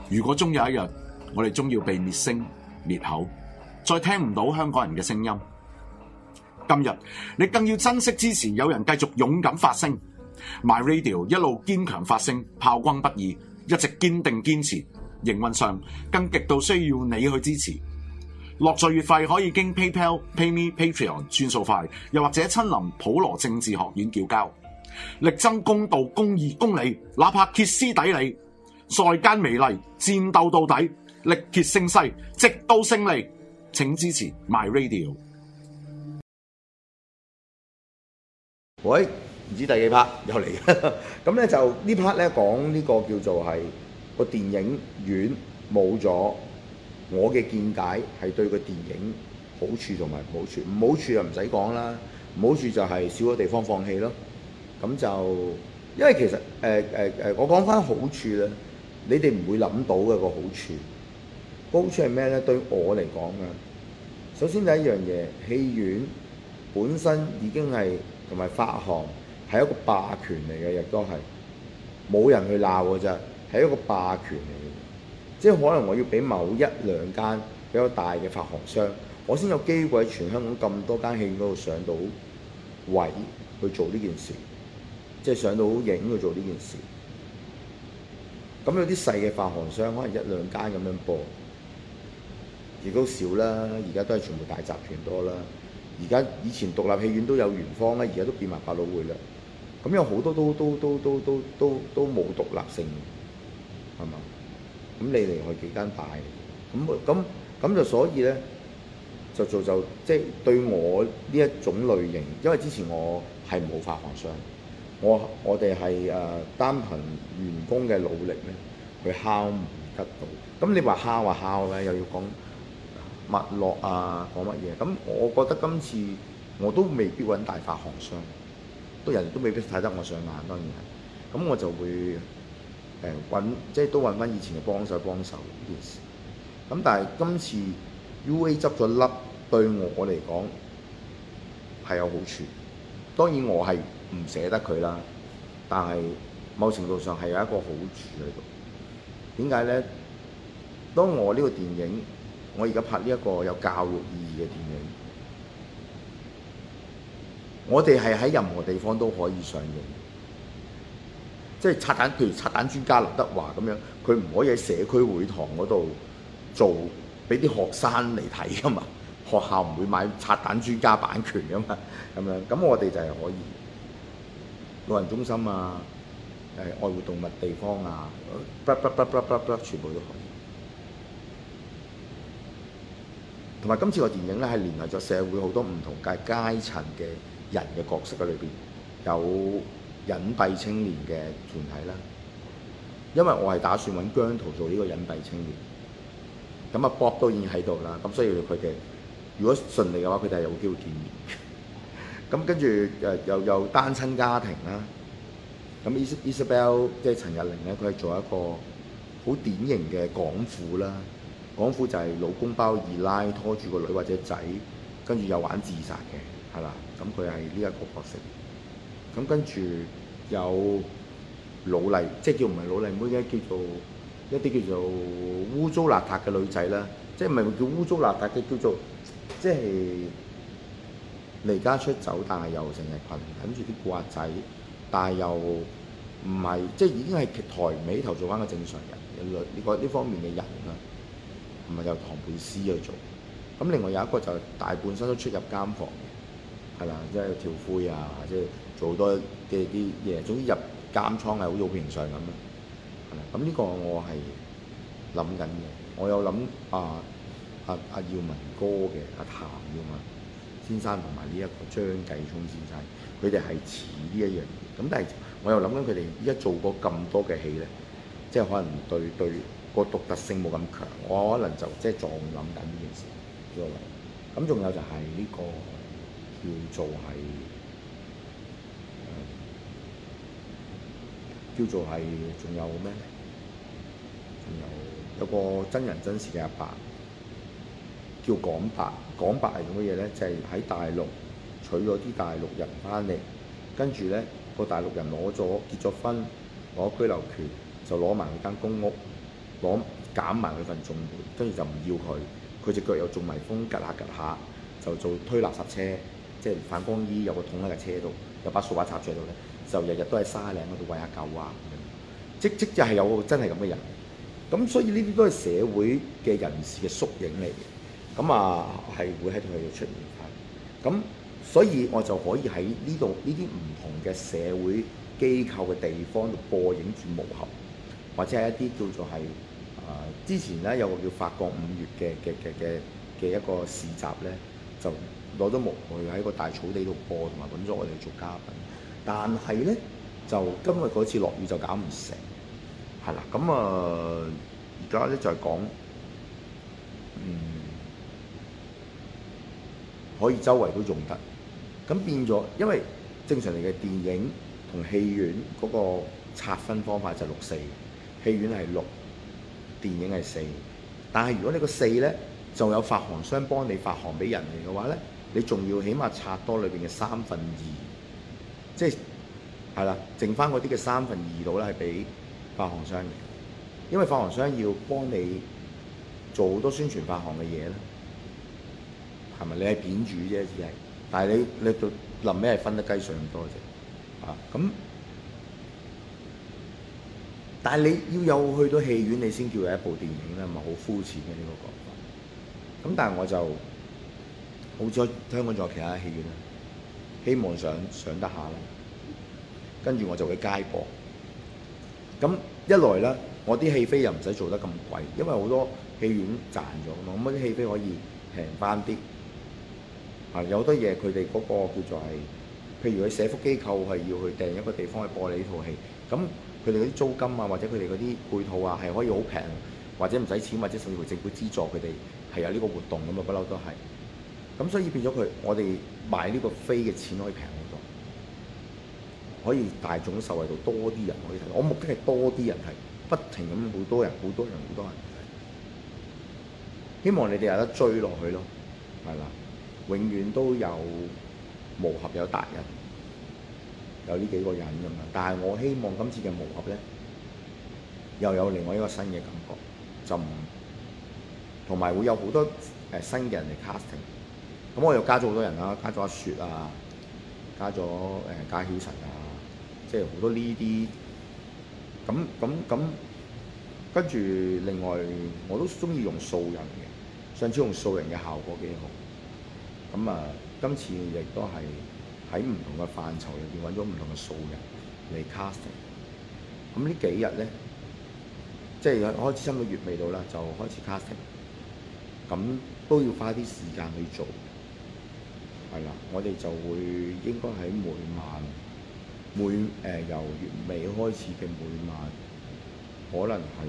如果終有一日，我哋終要被滅聲滅口，再聽唔到香港人嘅聲音，今日你更要珍惜支持有人繼續勇敢發聲 ，My Radio 一路堅強發聲，炮轟不已，一直堅定堅持。營運上更極度需要你去支持。落座月費可以經 PayPal、PayMe、Patreon 轉數快，又或者親臨普羅政治學院繳交。力爭公道、公義、公理，哪怕歇斯底里，在間美利，戰鬥到底，力竭勝勢，直到勝利。請支持 My Radio。 喂，唔知第幾 part 又嚟嘅，咁咧就呢 part 咧講呢個叫做係個電影院冇咗，我嘅見解係對個電影好處同埋唔好處。唔好處就唔使講啦，唔好處就係少咗地方放戲咯。咁就因為其實我講翻好處咧，你哋唔會諗到嘅個好處。個好處係咩咧？對我嚟講啊，首先第一樣嘢，戲院本身已經係同埋發行係一個霸權嚟嘅，亦都係冇人去鬧嘅啫，係一個霸權嚟嘅。即係可能我要俾某一兩間比較大嘅發行商，我先有機會喺全香港咁多間戲院嗰度上到位去做呢件事。即係上到影去做呢件事，咁有啲細嘅發行商可能一兩間咁樣播，亦都少啦。而家都係全部大集團多啦。而家以前獨立戲院都有元芳啦，而家都變埋百老匯啦。咁有好多都冇獨立性，係嘛？咁你離開幾間大，咁就所以咧就即係對我呢一種類型，因為之前我係冇發行商。我哋係單憑員工嘅努力咧，去敲門得到。咁你話敲咧，又要講脈絡啊，講乜嘢？咁我覺得今次我都未必揾大發行商，人哋都未必睇得我上眼，當然係。咁我就會即係都揾翻以前嘅幫手呢件事。咁但係今次 UA 執咗笠，對我嚟講係有好處。當然我係唔捨得佢啦，但係某程度上係有一個好處喺度。點解呢？當我呢個電影，我而家拍呢一個有教育意義嘅電影，我哋係喺任何地方都可以上映。即係譬如拆彈專家劉德華咁樣，佢唔可以喺社區會堂嗰度做，俾啲學生嚟睇噶嘛。學校唔會買拆彈專家版權噶嘛，咁樣。咁我哋就係可以。老人中心啊，愛護動物地方啊，全部都可以。同埋今次個電影咧係聯繫咗社會好多唔同階層嘅人嘅角色喺裏邊，有隱蔽青年嘅團體啦。因為我係打算揾姜濤做呢個隱蔽青年，咁啊 Bob 都已經喺度啦，咁所以佢哋如果順利嘅話，佢哋係有機會見面。咁跟住又有單親家庭啦，咁 Isabel 即係陳日玲咧，佢係做一個好典型嘅港婦啦。港婦就係老公包二奶拖住個女或者仔，跟住又玩自殺嘅，係啦。咁佢係呢一個角色。咁跟住有老麗，即係叫唔係老麗妹嘅，叫做一啲叫做污糟邋遢嘅女仔啦。即係唔係叫污糟邋遢嘅，叫做即係離家出走，但係又成日緊住啲古惑仔，但係又唔係即係已經係抬唔起頭做翻個正常人呢方面嘅人啦，唔係由唐貝斯去做。咁另外有一個就大半生都出入監房嘅，係啦，即係跳灰啊，即係做好多嘅啲嘢，總之入監倉係好似好平常咁啦。係啦，咁呢個我係諗緊嘅，我有諗阿耀文哥嘅阿譚耀文先生同埋呢一個張繼聰先生，佢哋係似呢一樣嘢。咁但係我又諗緊佢哋依家做過咁多嘅戲咧，即係可能對個獨特性冇咁強，我可能就即係仲諗緊呢件事。咁仲有就係呢個叫做係仲有咩？仲有個真人真事嘅阿伯，叫港伯。港伯係做乜嘢咧？就係喺大陸娶咗啲大陸人翻嚟，跟住咧個大陸人結咗婚，攞居留權，就攞埋佢間公屋， 減埋佢份綜援，跟住就唔要佢。佢隻腳又中埋風，趌下趌下就做推垃圾車，即係反光衣有個桶喺架車度，有把掃把插住喺度咧，就日日都喺沙嶺嗰度餵下狗啊咁樣。即就係有個真係咁嘅人。咁所以呢啲都係社會嘅人士嘅縮影嚟嘅。咁啊係會喺佢度出現翻。咁所以我就可以喺呢度呢啲唔同嘅社會機構嘅地方度播映住毛俠，或者係一啲叫做係之前咧有個叫法國5月嘅一個市集咧，就攞咗毛去喺個大草地度播，同埋揾咗我哋做嘉賓。但係咧就今日嗰次落雨就搞唔成，係啦。咁而家咧就係講可以周圍都用得，咁變咗，因為正常嚟嘅電影同戲院嗰個拆分方法就6:4，戲院係6，電影係4。但係如果你個4咧，就有發行商幫你發行俾人哋嘅話咧，你仲要起碼拆多裏邊嘅2/3，即係啦，剩翻嗰啲嘅2/3度咧係俾發行商嘅，因為發行商要幫你做好多宣傳發行嘅嘢咧。係咪？你係片主啫，只係，但係你到臨尾係分得雞碎咁多啫，咁。但係你要有去到戲院，你先叫有一部電影啦，咪好膚淺嘅呢個講法。咁但係我就好彩香港仲有其他戲院啦，希望上得下啦。跟住我就會街播。咁一來咧，我啲戲飛又唔使做得咁貴，因為好多戲院賺咗嘛，咁啲戲飛可以平翻啲。有好多嘢佢哋嗰個叫做係，譬如佢社福機構係要去訂一個地方去播你呢套戲，咁佢哋嗰啲租金啊，或者佢哋嗰啲配套啊，係可以好平，或者唔使錢，或者甚至乎政府資助佢哋係有呢個活動咁啊，不嬲都係。咁所以變咗我哋買呢個飛嘅錢可以平好多，可以大眾受惠到多啲人可以睇。我目的係多啲人睇，不停咁好多人睇，希望你哋有得追落去咯，係啦。永遠都有毛俠有達人，有呢幾個人咁樣。但係我希望今次嘅毛俠咧，又有另外一個新嘅感覺，就唔同埋會有好多新嘅人嚟 casting。咁我又加咗好多人啦，加咗阿雪啊，加咗加曉晨啊，即係好多呢啲。咁跟住另外我都中意用素人嘅，上次用素人嘅效果幾好。咁今次亦都係喺唔同嘅範疇入邊揾咗唔同嘅素人嚟 casting。咁呢幾日咧，即係開始差唔多月尾到啦，就開始 casting。咁都要花啲時間去做，係啦。我哋就會應該喺每晚由月尾開始嘅每晚，可能係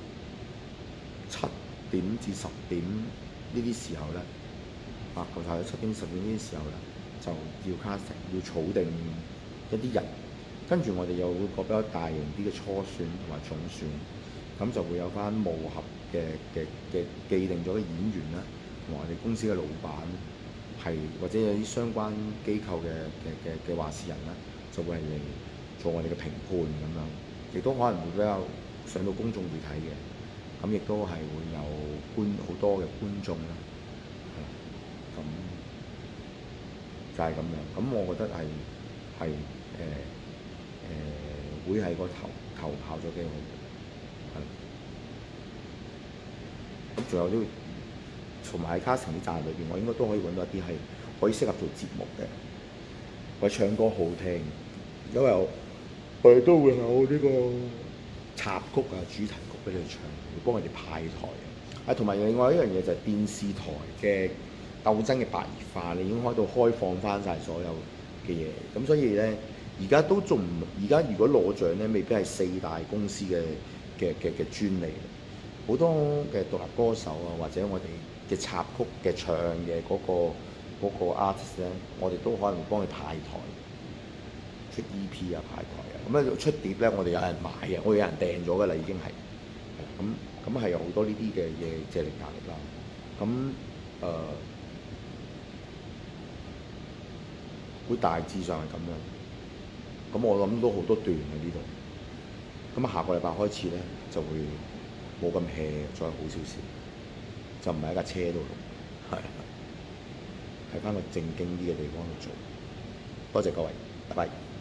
7點至10點呢啲時候咧。頭頭7點10點呢啲時候咧，就要 casting，要儲定一啲人，跟住我哋又會個比較大型啲嘅初選同埋總選，咁就會有翻毛俠嘅既定咗嘅演員啦，同埋我哋公司嘅老闆係或者有啲相關機構嘅話事人啦，就會係嚟做我哋嘅評判咁樣，亦都可能會比較上到公眾媒體嘅，咁亦都係會有好多嘅觀眾啦。咁就係咁樣，咁我覺得係會係個頭效咗幾好，係。咁仲有啲，同埋喺 casting 啲站裏邊，我應該都可以揾到一啲係可以適合做節目嘅，或者唱歌好聽，因為我哋都會有呢個插曲啊、主題曲俾你唱，會幫佢哋派台。同埋另外一樣嘢就係電視台嘅鬥爭嘅白熱化，你已經開到開放翻晒所有嘅嘢，咁所以咧，而家都仲唔，而家如果攞獎咧，未必係4大公司嘅專利，好多嘅獨立歌手啊，或者我哋嘅插曲嘅唱嘅嗰個 artist 咧，我哋都可能會幫佢派台，出 EP 啊派台啊，咁咧出碟咧，我哋有人買嘅，我哋有人訂咗㗎啦，已經係，咁係有好多呢啲嘅嘢借力壓力啦，咁會大致上係咁樣，咁我諗都好多段喺呢度。咁下個禮拜開始咧就會冇咁 hea，再好少少，就唔係喺架車度錄，係喺翻個正經啲嘅地方度做。多謝各位，拜拜。